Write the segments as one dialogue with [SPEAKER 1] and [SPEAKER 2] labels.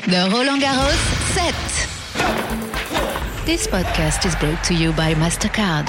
[SPEAKER 1] The Roland Garros set. This podcast is brought to you by MasterCard.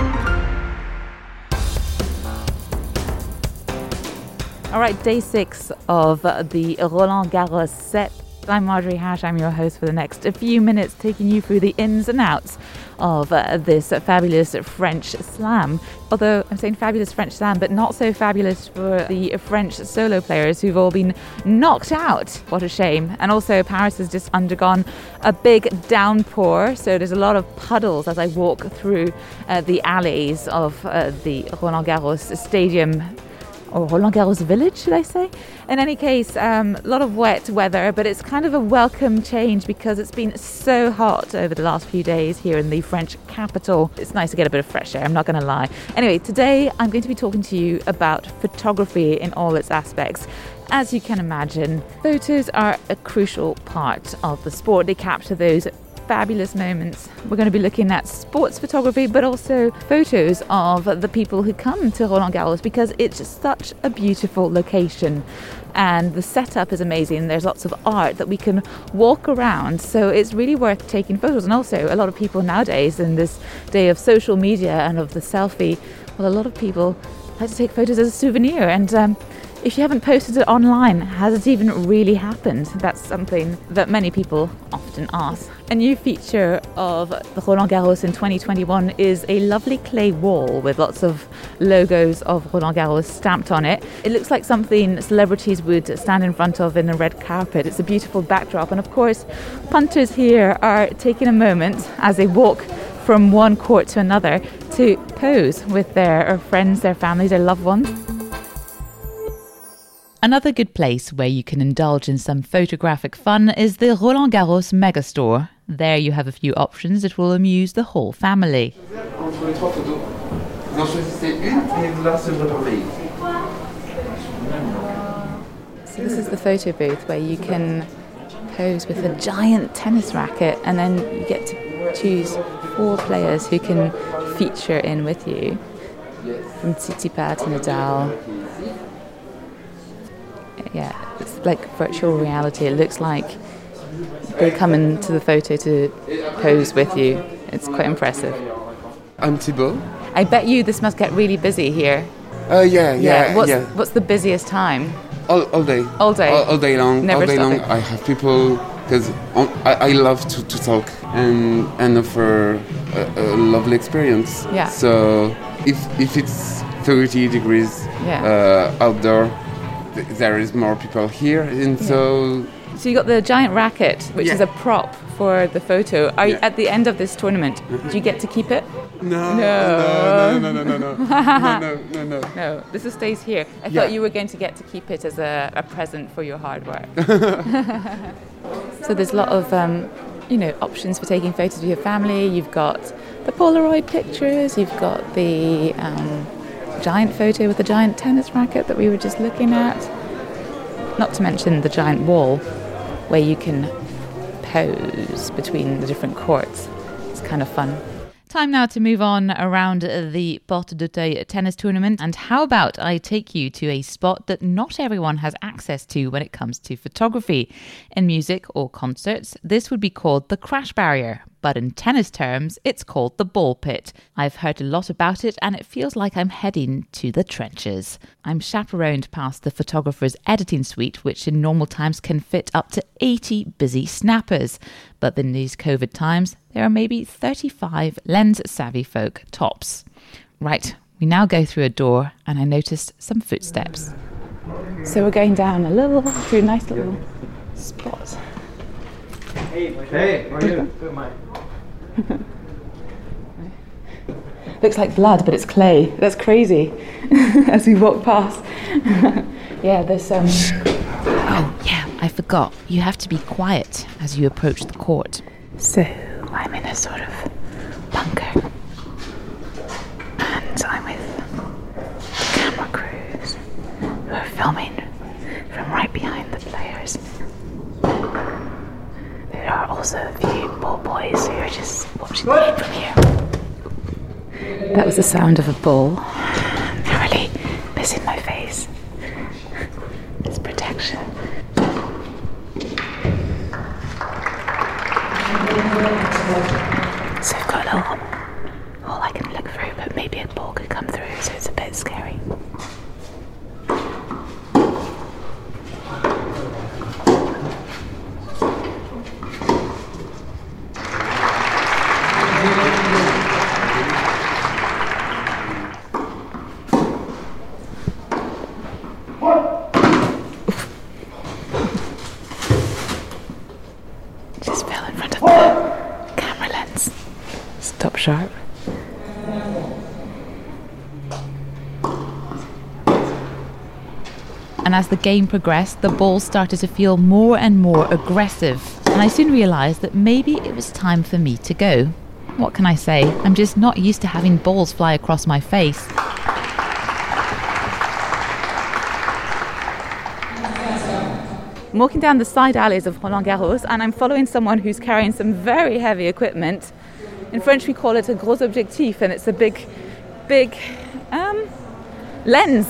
[SPEAKER 2] All right, day 6 of the Roland Garros set. I'm Marjorie Hash. I'm your host for the next few minutes, taking you through the ins and outs of this fabulous French slam. Although I'm saying fabulous French slam, but not so fabulous for the French solo players who've all been knocked out. What a shame. And also Paris has just undergone a big downpour, so there's a lot of puddles as I walk through the alleys of the Roland Garros stadium. Or Roland Garros village, should I say? In any case, a lot of wet weather, but it's kind of a welcome change because it's been so hot over the last few days here in the French capital. It's nice to get a bit of fresh air, I'm not going to lie. Anyway, today I'm going to be talking to you about photography in all its aspects. As you can imagine, photos are a crucial part of the sport. They capture those fabulous moments. We're going to be looking at sports photography, but also photos of the people who come to Roland Garros because it's just such a beautiful location and the setup is amazing. There's lots of art that we can walk around, so it's really worth taking photos. And also a lot of people nowadays, in this day of social media and of the selfie, well, a lot of people like to take photos as a souvenir. And if you haven't posted it online, has it even really happened? That's something that many people often ask. A new feature of the Roland Garros in 2021 is a lovely clay wall with lots of logos of Roland Garros stamped on it. It looks like something celebrities would stand in front of in a red carpet. It's a beautiful backdrop. And of course, punters here are taking a moment as they walk from one court to another to pose with their friends, their families, their loved ones. Another good place where you can indulge in some photographic fun is the Roland Garros Megastore. There you have a few options that will amuse the whole family. So this is the photo booth where you can pose with a giant tennis racket, and then you get to choose 4 players who can feature in with you. From Tsitsipas to Nadal. Yeah, it's like virtual reality. It looks like they come into the photo to pose with you. It's quite impressive.
[SPEAKER 3] I'm Thibaut.
[SPEAKER 2] I bet you this must get really busy here.
[SPEAKER 3] Yeah.
[SPEAKER 2] What's the busiest time?
[SPEAKER 3] All day.
[SPEAKER 2] All day?
[SPEAKER 3] All day long.
[SPEAKER 2] Never
[SPEAKER 3] all day long.
[SPEAKER 2] stopping.
[SPEAKER 3] I have people, because I love to talk and offer a lovely experience.
[SPEAKER 2] Yeah.
[SPEAKER 3] So if it's 30 degrees outdoor, there is more people here, and so
[SPEAKER 2] you got the giant racket, which is a prop for the photo. Are you, at the end of this tournament, do you get to keep it?
[SPEAKER 3] No.
[SPEAKER 2] No, this stays here. I thought you were going to get to keep it as a present for your hard work. So there's a lot of options for taking photos with your family. You've got the Polaroid pictures, you've got the giant photo with the giant tennis racket that we were just looking at. Not to mention the giant wall where you can pose between the different courts. It's kind of fun. Time now to move on around the Porte d'Auteuil tennis tournament. And how about I take you to a spot that not everyone has access to when it comes to photography. In music or concerts, this would be called the crash barrier. But in tennis terms, it's called the ball pit. I've heard a lot about it and it feels like I'm heading to the trenches. I'm chaperoned past the photographer's editing suite, which in normal times can fit up to 80 busy snappers. But in these COVID times, there are maybe 35 lens-savvy folk tops. Right, we now go through a door and I noticed some footsteps. So we're going down through a nice little spot.
[SPEAKER 4] Hey, how are you? Good, Mike.
[SPEAKER 2] Looks like blood, but it's clay. That's crazy. As we walk past. Yeah, there's Oh, yeah, I forgot. You have to be quiet as you approach the court. So, I'm in a sort of bunker. And I'm with the camera crews who are filming from right behind the players. There are also a few ball boys who are just watching the game from here. That was the sound of a ball narrowly missing my face. It's protection. So I've got a little hole I can look through, but maybe a ball could come through, so it's a bit scary. Just fell in front of the camera lens. Stop sharp. And as the game progressed, the ball started to feel more and more aggressive. And I soon realised that maybe it was time for me to go. What can I say? I'm just not used to having balls fly across my face. I'm walking down the side alleys of Roland Garros and I'm following someone who's carrying some very heavy equipment. In French we call it a gros objectif, and it's a big lens.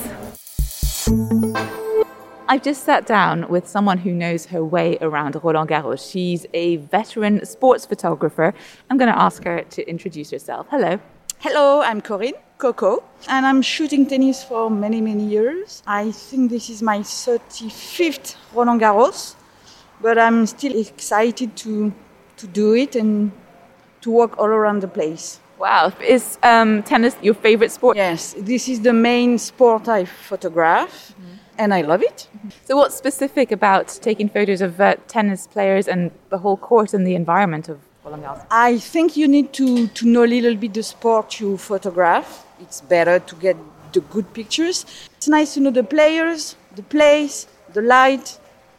[SPEAKER 2] I've just sat down with someone who knows her way around Roland Garros. She's a veteran sports photographer. I'm going to ask her to introduce herself. Hello.
[SPEAKER 4] Hello, I'm Corinne, Coco, and I'm shooting tennis for many, many years. I think this is my 35th Roland Garros, but I'm still excited to do it and to walk all around the place.
[SPEAKER 2] Wow. Is tennis your favorite sport?
[SPEAKER 4] Yes, this is the main sport I photograph, and I love it.
[SPEAKER 2] So what's specific about taking photos of tennis players and the whole court and the environment of Roland Garros?
[SPEAKER 4] I think you need to know a little bit the sport you photograph. It's better to get the good pictures. It's nice to know the players, the place, the light,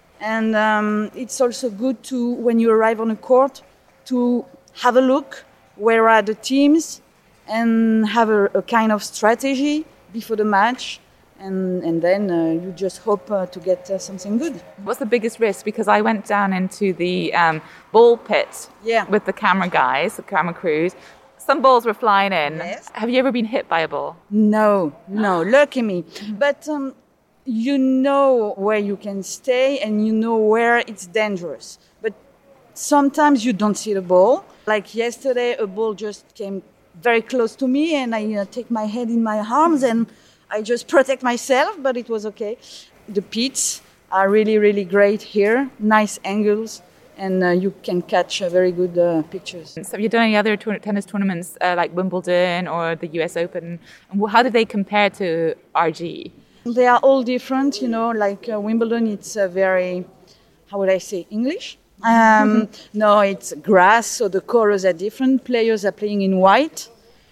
[SPEAKER 4] and it's also good to, when you arrive on a court, to have a look where are the teams and have a kind of strategy before the match. And then you just hope to get something good.
[SPEAKER 2] What's the biggest risk? Because I went down into the ball pit with the camera guys, the camera crews. Some balls were flying in.
[SPEAKER 4] Yes.
[SPEAKER 2] Have you ever been hit by a ball?
[SPEAKER 4] No, lucky me. But you know where you can stay and you know where it's dangerous. But sometimes you don't see the ball. Like yesterday, a ball just came very close to me and I take my head in my arms and I just protect myself, but it was okay. The pits are really, really great here. Nice angles, and you can catch very good pictures.
[SPEAKER 2] So have you done any other tennis tournaments like Wimbledon or the US Open? And how do they compare to RG?
[SPEAKER 4] They are all different, like Wimbledon, it's very, how would I say, English? No, it's grass, so the colors are different. Players are playing in white,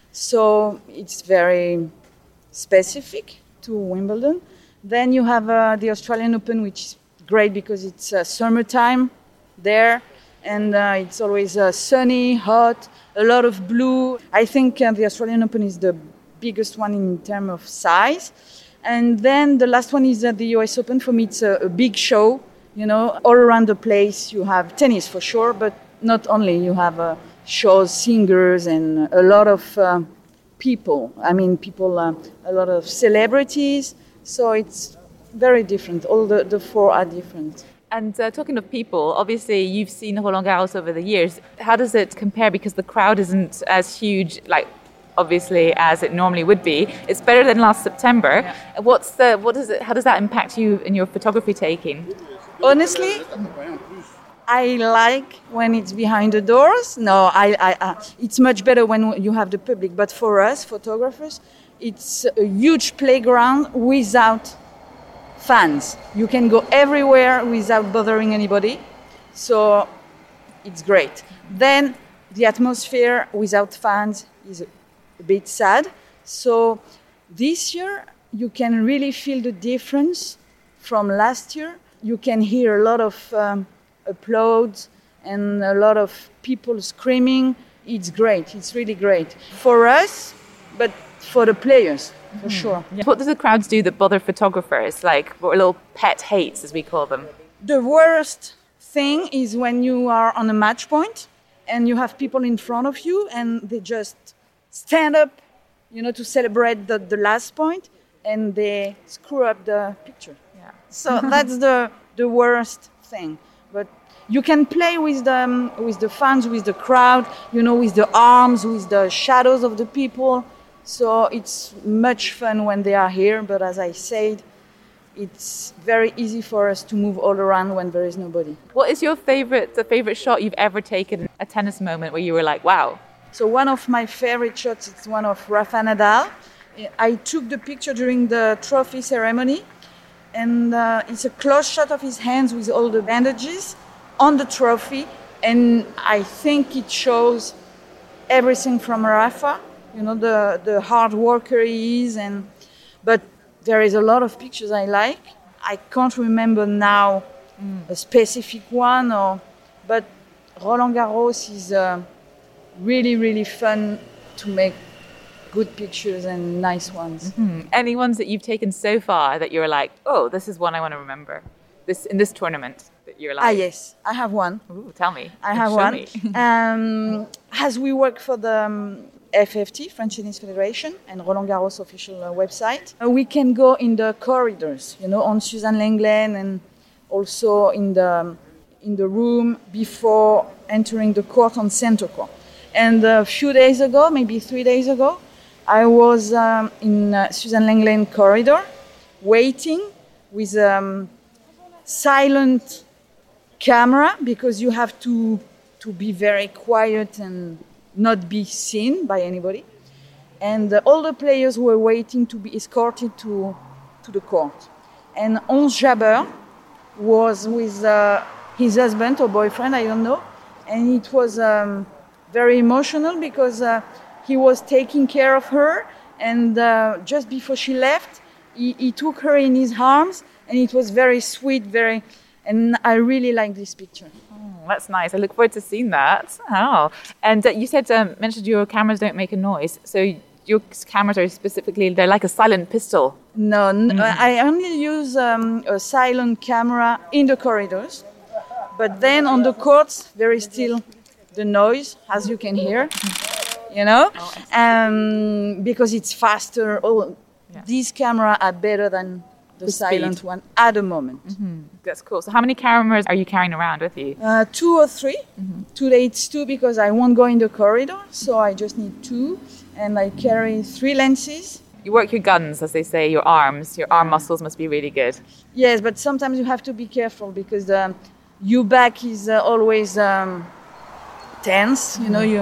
[SPEAKER 4] so it's very specific to Wimbledon. Then you have the Australian Open, which is great because it's summertime there, and it's always sunny, hot, a lot of blue. I think the Australian Open is the biggest one in terms of size. And then the last one is the US Open. For me, it's a big show. All around the place you have tennis for sure, but not only. You have shows, singers, and a lot of people. A lot of celebrities. So it's very different. All the four are different.
[SPEAKER 2] And talking of people, obviously you've seen Roland Garros over the years. How does it compare? Because the crowd isn't as huge, obviously, as it normally would be. It's better than last September. Yeah. How does that impact you in your photography taking?
[SPEAKER 4] Honestly, I like when it's behind the doors. No, it's much better when you have the public. But for us, photographers, it's a huge playground without fans. You can go everywhere without bothering anybody. So it's great. Then the atmosphere without fans is a bit sad. So this year, you can really feel the difference from last year. You can hear a lot of applause and a lot of people screaming. It's great. It's really great for us, but for the players, for sure.
[SPEAKER 2] Yeah. What do the crowds do that bother photographers, like little pet hates, as we call them?
[SPEAKER 4] The worst thing is when you are on a match point and you have people in front of you and they just stand up, to celebrate the last point, and they screw up the picture. Yeah. So that's the worst thing. But you can play with the fans, with the crowd, with the arms, with the shadows of the people. So it's much fun when they are here. But as I said, it's very easy for us to move all around when there is nobody.
[SPEAKER 2] What is the favorite shot you've ever taken, a tennis moment where you were like, wow?
[SPEAKER 4] So one of my favorite shots is one of Rafa Nadal. I took the picture during the trophy ceremony, and it's a close shot of his hands with all the bandages on the trophy, and I think it shows everything from Rafa, the hard worker he is, but there is a lot of pictures I like. I can't remember now a specific one, but Roland Garros is really, really fun to make good pictures and nice ones.
[SPEAKER 2] Mm-hmm. Any ones that you've taken so far that you're like, oh, this is one I want to remember in this tournament that you're like?
[SPEAKER 4] Yes, I have one.
[SPEAKER 2] Ooh, tell me.
[SPEAKER 4] I have one. As we work for the FFT, French Tennis Federation, and Roland Garros official website, we can go in the corridors, on Suzanne Lenglen, and also in the room before entering the court on center court. And a few days ago, maybe 3 days ago, I was in Suzanne Lenglen corridor, waiting with silent camera, because you have to be very quiet and not be seen by anybody. And all the players were waiting to be escorted to the court. And Ons Jabeur was with his husband or boyfriend, I don't know. And it was very emotional because he was taking care of her. And just before she left, he took her in his arms. And it was very sweet, and I really like this picture.
[SPEAKER 2] Oh, that's nice. I look forward to seeing that. Oh, and you mentioned your cameras don't make a noise. So your cameras are they're like a silent pistol.
[SPEAKER 4] No, I only use a silent camera in the corridors. But then on the courts, there is still the noise, as you can hear, because it's faster. These cameras are better than the silent one at the moment.
[SPEAKER 2] Mm-hmm. That's cool. So how many cameras are you carrying around with you?
[SPEAKER 4] 2 or 3. Mm-hmm. Today it's 2 because I won't go in the corridor, so I just need 2. And I carry 3 lenses.
[SPEAKER 2] You work your guns, as they say, your arms. Your arm muscles must be really good.
[SPEAKER 4] Yes, but sometimes you have to be careful because your back is always tense,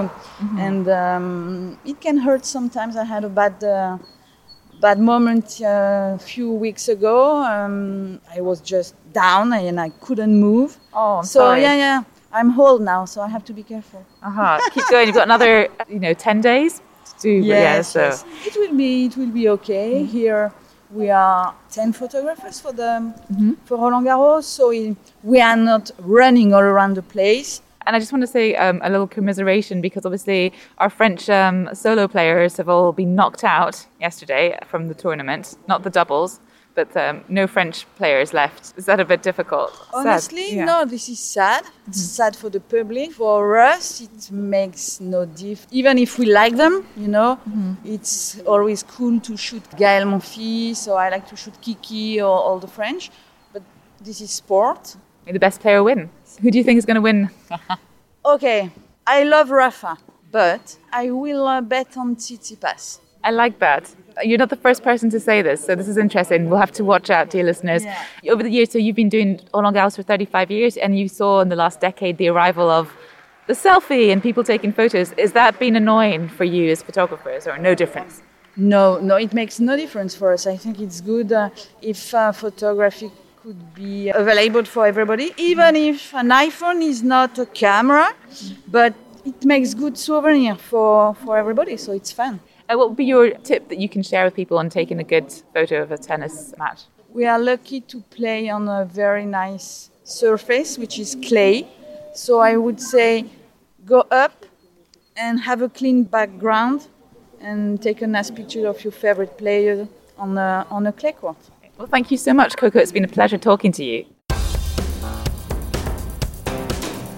[SPEAKER 4] and it can hurt sometimes. I had a bad moment a few weeks ago. I was just down and I couldn't move.
[SPEAKER 2] Oh, I'm sorry.
[SPEAKER 4] Yeah. I'm old now, so I have to be careful.
[SPEAKER 2] Keep going. You've got another, 10 days to do.
[SPEAKER 4] Yes. It will be okay. Here we are 10 photographers for Roland Garros, so we are not running all around the place.
[SPEAKER 2] And I just want to say a little commiseration because obviously our French solo players have all been knocked out yesterday from the tournament, not the doubles, but no French players left. Is that a bit difficult?
[SPEAKER 4] Honestly, no, this is sad. It's sad for the public. For us, it makes no difference. Even if we like them, it's always cool to shoot Gaël Monfils, so I like to shoot Kiki or all the French. But this is sport.
[SPEAKER 2] May the best player win. Who do you think is going to win?
[SPEAKER 4] Okay, I love Rafa, but I will bet on Tsitsipas.
[SPEAKER 2] I like that. You're not the first person to say this, so this is interesting. We'll have to watch out, dear listeners. Yeah. Over the years, so you've been doing Roland Garros for 35 years, and you saw in the last decade the arrival of the selfie and people taking photos. Is that been annoying for you as photographers, or no difference?
[SPEAKER 4] No, it makes no difference for us. I think it's good if photography could be available for everybody, even if an iPhone is not a camera, but it makes good souvenir for everybody, so it's fun.
[SPEAKER 2] What would be your tip that you can share with people on taking a good photo of a tennis match?
[SPEAKER 4] We are lucky to play on a very nice surface, which is clay. So I would say go up and have a clean background and take a nice picture of your favorite player on a clay court.
[SPEAKER 2] Well, thank you so much, Coco. It's been a pleasure talking to you.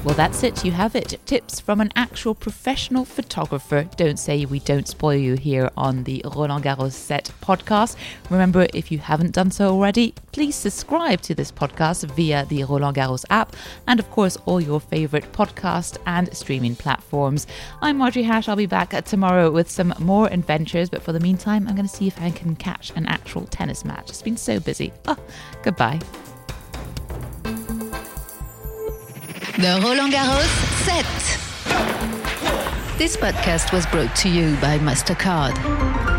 [SPEAKER 2] Well, that's it. You have it. Tips from an actual professional photographer. Don't say we don't spoil you here on the Roland Garros Set podcast. Remember, if you haven't done so already, please subscribe to this podcast via the Roland Garros app and, of course, all your favorite podcast and streaming platforms. I'm Marjorie Hash. I'll be back tomorrow with some more adventures. But for the meantime, I'm going to see if I can catch an actual tennis match. It's been so busy. Goodbye.
[SPEAKER 1] The Roland Garros Set. This podcast was brought to you by MasterCard.